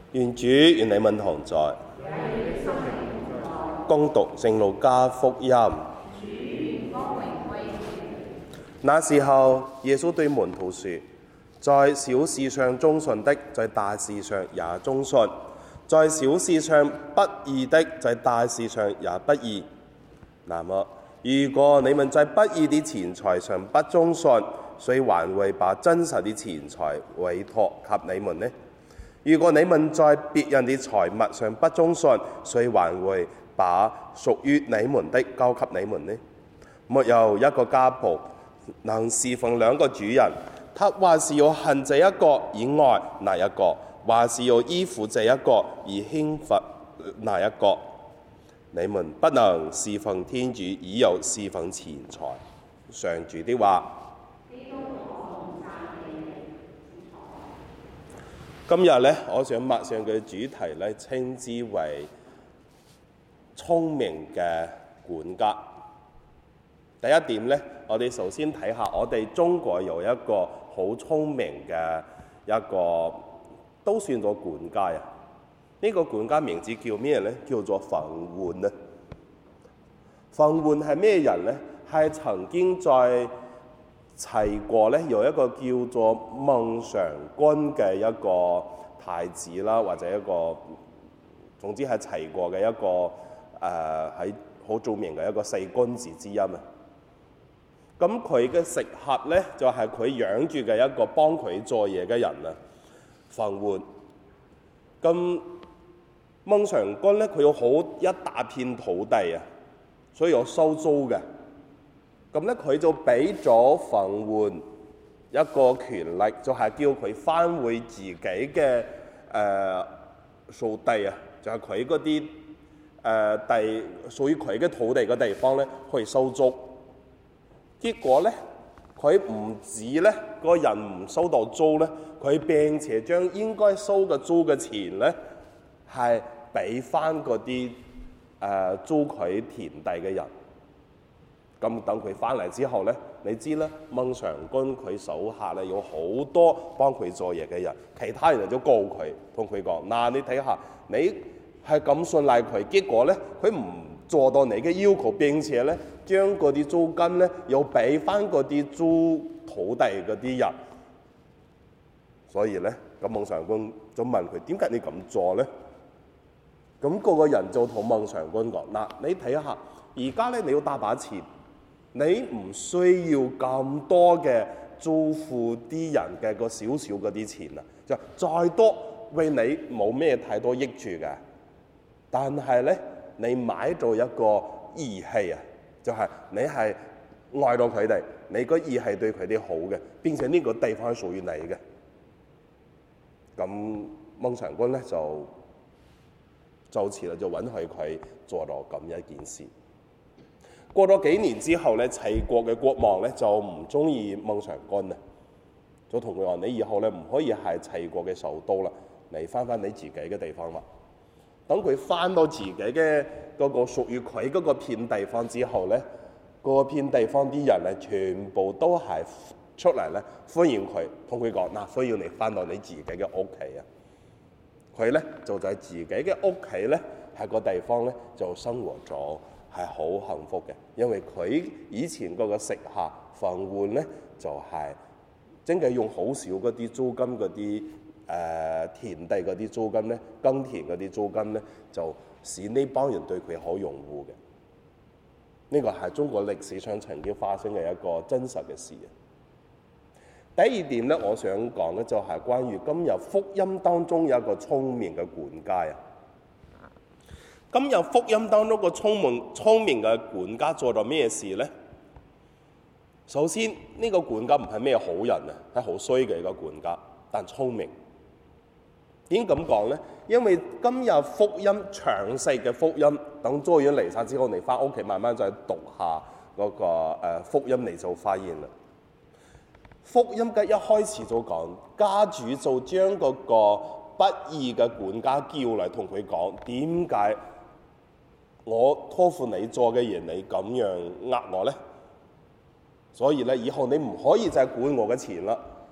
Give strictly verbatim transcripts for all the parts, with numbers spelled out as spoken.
願主與你們同在。恭讀聖路加福音。那時候，耶穌對門徒說：在小事上忠信的，在大事上也忠信；在小事上不義的，在大事上也不義。那麼，如果你們在不義的錢財上不忠信，誰還會把真實的錢財委託給你們呢？如果你們在別人的財物上不忠信，誰還會把屬於你們的交給你們呢？沒有一個家僕能侍奉兩個主人，他或是要恨這一個而愛那一個，或是要依附這一個而輕忽那一個。你們不能侍奉天主而又侍奉錢財。上主的話。今日咧，我想默上嘅主題咧，稱之為聰明嘅管家。第一點咧，我哋首先睇下，我哋中國有一個好聰明嘅一個，都算咗管家啊。呢、這個管家名字叫咩咧？叫做馮煥啊。馮煥係咩人咧？係曾經在齊國咧有一個叫做孟嘗君嘅一個太子啦，或者一個總之係齊國嘅一個誒喺好著名嘅一個四君子之一啊。咁佢嘅食客咧就係、是、佢養住嘅一個幫佢做嘢嘅人啊，馮煥。咁孟嘗君咧佢有好一大片土地啊，所以有收租嘅。咁咧，佢就俾咗馮煥一個權力，就係、是、叫佢翻回自己嘅誒屬地啊，就係佢嗰啲誒地屬於佢嘅土地嘅地方咧，去收租。結果咧，佢唔止咧個人唔收到租咧，佢並且將應該收嘅租嘅錢咧，係俾翻嗰啲誒租佢田地嘅人。咁等佢翻嚟之後咧，你知啦，孟嘗君佢手下咧有好多幫佢做嘢嘅人，其他人就告佢，同佢講：嗱，你睇下，你係咁信賴佢，結果咧佢唔做到你嘅要求，並且咧將嗰啲租金咧又俾翻嗰啲租土地嗰啲人。所以咧，咁孟嘗君就問佢：點解你咁做咧？咁、那、嗰個人就同孟嘗君講：嗱，你睇下，而家咧你要大把錢。你唔需要咁多嘅租付啲人嘅個少少嗰啲錢啊，就再多為你冇咩太多益處嘅。但係咧，你買咗一個義氣啊，就係、是、你係愛到佢哋，你個義係對佢哋好嘅，並且呢個地方係屬於你嘅。咁孟嘗君咧就就此啦，就允許佢做到咁一件事。過咗幾年之後咧，齊國嘅國王咧就唔中意孟嘗君啊，就同佢話：你以後咧唔可以係齊國嘅首都啦，你翻翻你自己嘅地方啦。等佢翻到自己嘅嗰個屬於佢嗰個片地方之後咧，嗰片地方啲人咧全部都係出嚟咧歡迎佢，同佢講：嗱，需要你翻到你自己嘅屋企啊！佢咧就在自己嘅屋企咧喺個地方咧就生活咗。係好幸福嘅，因為佢以前嗰個食客馮煥咧，就係、是、真係用好少嗰啲租金嗰啲誒田地嗰啲租金咧，耕田嗰啲租金咧，就使呢幫人對佢好擁護嘅。呢、這個係中國歷史上曾經發生嘅一個真實嘅事。第二點咧，我想講咧就係關於今日福音當中有一個聰明嘅管家啊。今日福音當中個聰明聰明嘅管家做咗咩事咧？首先呢、這個管家唔係咩好人啊，係好衰嘅一個管家，但聰明。點咁講咧？因為今日福音詳細嘅福音，等做完彌撒之後，你翻屋企慢慢再讀下嗰、那個、呃、福音，你就發現啦。福音嘅一開始就講，家主就將嗰個不義嘅管家叫嚟，同佢講：點解我託付你做嘅嘢，你咁樣呃我咧？所以咧，以後你唔可以再管我嘅錢啦。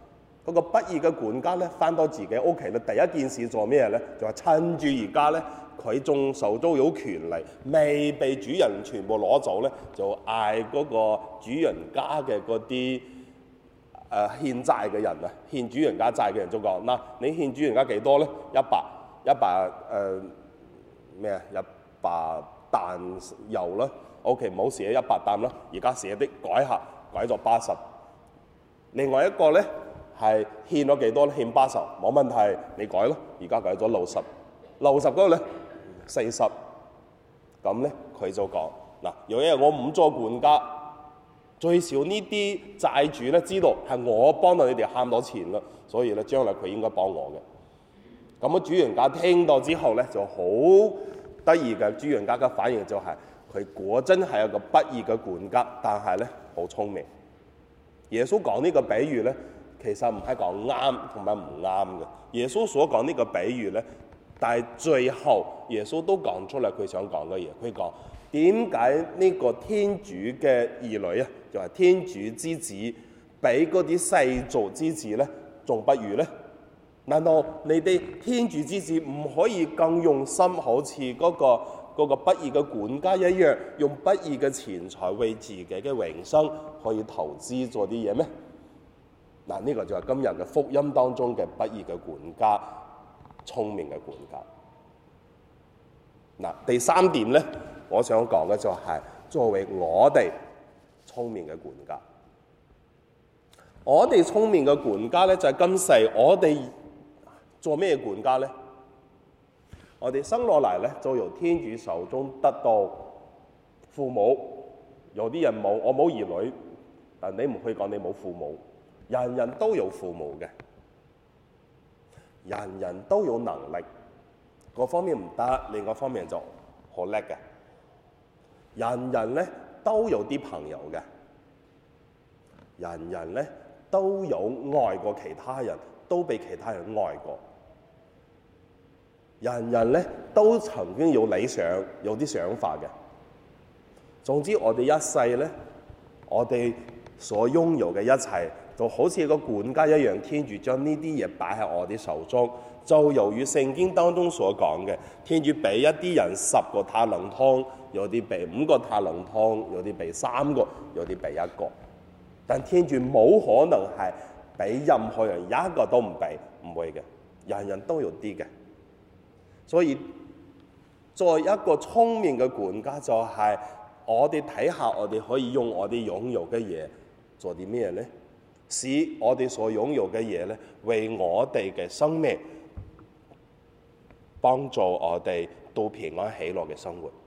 嗰個不義嘅管家咧，翻到自己屋企咧，第一件事做咩咧？就係趁住而家咧，佢仲手中有權利，未被主人全部攞走咧，就嗌嗰個主人家嘅嗰啲誒欠債嘅人啊，欠主人家債嘅人就講：嗱，你欠主人家幾多咧？一百一百誒咩啊？一百擔油啦。O.K. 唔好寫一百擔啦，而家寫啲改下，改咗八十。另外一個咧。係欠咗幾多咧？欠八十，冇問題，你改咯。而家改咗六十，六十嗰個咧四十。咁咧佢就講嗱，有一日我唔做管家，最少呢啲債主咧知道係我幫到你哋慳到錢啦，所以咧將來佢應該幫我嘅。咁啊主人家聽到之後咧就好得意嘅，主人家嘅反應就係、是、佢果真係一個不義嘅管家，但係咧好聰明。耶穌講呢個比喻咧。其實唔係講啱同埋唔啱嘅。耶穌所講呢個比喻咧，但係最後耶穌都講出嚟佢想講嘅嘢。佢講點解呢個天主嘅兒女啊，就係、是、天主之子，比嗰啲世俗之子咧，仲不如咧？難道你哋天主之子唔可以更用心，好似嗰、那個嗰、那個不義嘅管家一樣，用不義嘅錢財為自己嘅永生可以投資做啲嘢咩？嗱，呢個就係今日嘅福音當中嘅不義嘅管家，聰明嘅管家。嗱，第三點咧，我想講嘅就係作為我哋聰明嘅管家。我哋聰明嘅管家咧，就係今世我哋做咩管家咧？我哋生落嚟咧，就由天主手中得到父母。有啲人冇，我冇兒女，但你唔可以講你冇父母。人人都有父母嘅，人人都有能力，各方面唔得，另外一方面就好叻嘅。人人咧都有啲朋友嘅，人人咧都有愛過其他人，都被其他人愛過。人人咧都曾經有理想，有啲想法嘅。總之，我哋一世咧，我哋所擁有嘅一切，就好似個管家一樣，天主將呢啲嘢擺喺我哋手中，就由於聖經當中所講嘅，天主俾一啲人十個塔冷通，有啲俾五個塔冷通，有啲俾三個，有啲俾一個。但天主冇可能係俾任何人一個都唔俾，唔會嘅，人人都有啲嘅。所以作為一個聰明嘅管家，就係我哋睇下，我哋可以用我哋擁有嘅嘢做啲咩咧？使我哋所擁有嘅嘢咧，為我哋嘅生命幫助我哋到平安喜樂嘅生活。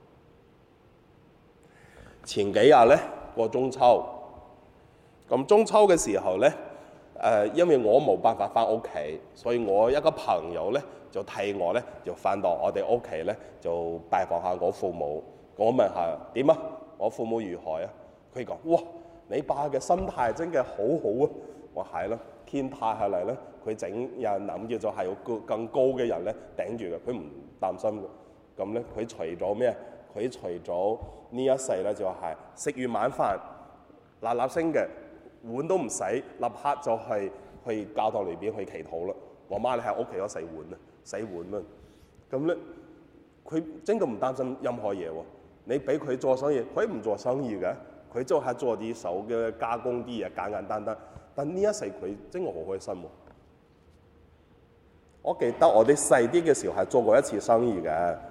前幾日咧過中秋，咁中秋嘅時候咧，誒、呃，因為我冇辦法翻屋企，所以我一個朋友咧就替我咧就翻到我哋屋企咧就拜訪下我父母。我問下點啊？我父母如何啊？佢講：哇！你爸嘅心態真係好好啊！我係咯，天塌下嚟咧，佢整有人諗住就係有更更高嘅人咧頂住嘅，佢唔擔心嘅。咁咧，佢除咗咩啊？佢除咗呢一世咧，就係食完晚飯，嗱嗱聲嘅碗都唔洗，立刻就係去教堂裏邊去祈禱啦。我媽你喺屋企嗰洗碗啊，洗碗啊。咁咧，佢真係唔擔心任何嘢喎。你俾佢做生意，佢唔做生意嘅。佢就係做啲手嘅加工啲嘢，簡簡單單。但呢一世佢真係好開心喎！我記得我哋細啲嘅時候係做過一次生意嘅，